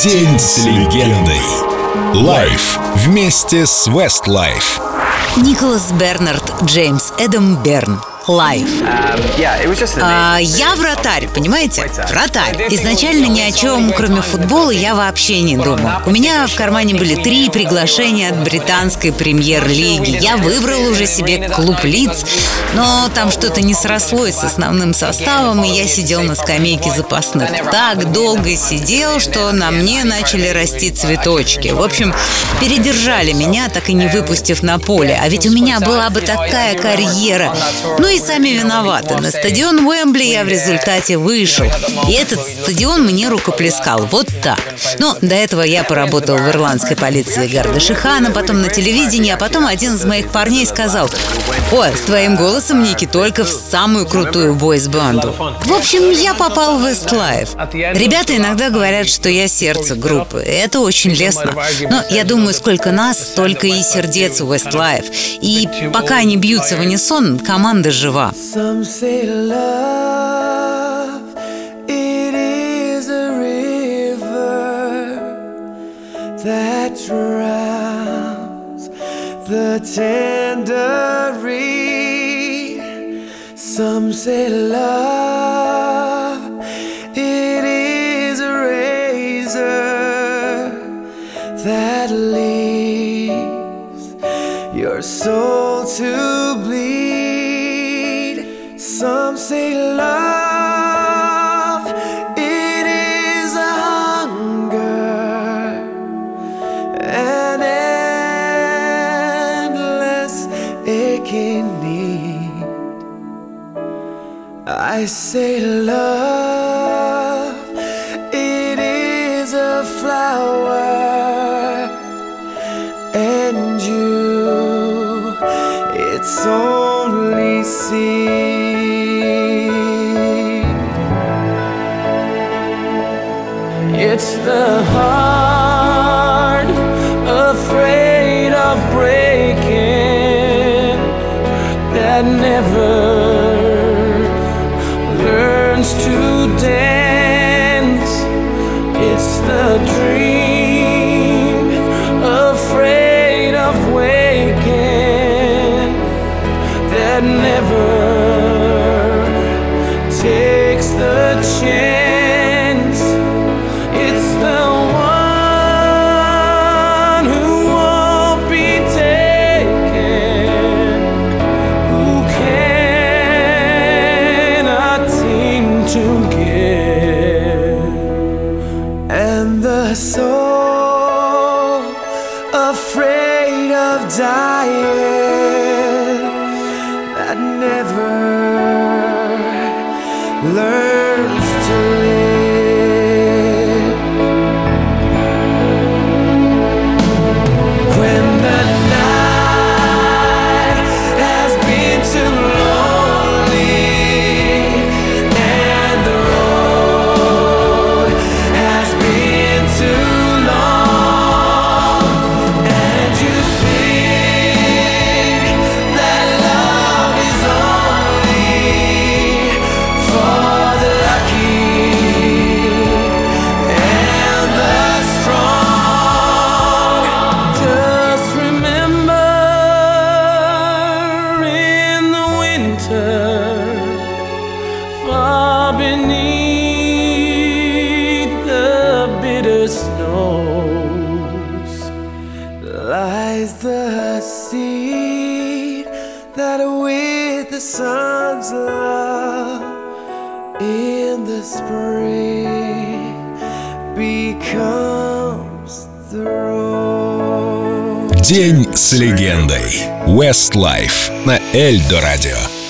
День с легендой. Лайв вместе с Westlife. Николас Бернард Джеймс Эдам Берн. Лайв. Я вратарь, понимаете? Вратарь. Изначально ни о чем, кроме футбола, я вообще не думал. У меня в кармане были 3 приглашения от британской премьер-лиги. Я выбрал уже себе клуб Лидс, но там что-то не срослось с основным составом, и я сидел на скамейке запасных. Так долго сидел, что на мне начали расти цветочки. В общем, передержали меня, так и не выпустив на поле. А ведь у меня была бы такая карьера. Ну и сами виноваты. На стадион Уэмбли я в результате вышел. И этот стадион мне рукоплескал. Вот так. Но до этого я поработал в ирландской полиции Гардашихана, потом на телевидении, а потом один из моих парней сказал: «Ой, с твоим голосом, Ники, только в самую крутую бойс-банду». В общем, я попал в Westlife. Ребята иногда говорят, что я сердце группы. Это очень лестно. Но я думаю, сколько нас, столько и сердец у Westlife. И пока они бьются в унисон, команда жива. Some say love, it is a river that drowns the tender reed. Some say love, it is a razor that leaves your soul to bleed. Some say love, it is a hunger, an endless aching need. I say love, it is a flower, and you, it's only seed. It's the heart afraid of breaking that never learns to dance. It's the dream afraid of waking that never takes the chance. The soul afraid of dying that never learns to live. When the night has been too lonely and the road has been too long, and you think that love is only for the lucky and the strong. Just remember, in the winter, far beneath the bitter snows, lies the seed that with the sun's love in the spring becomes the rose. День с легендой. Westlife на Эльдо Радио.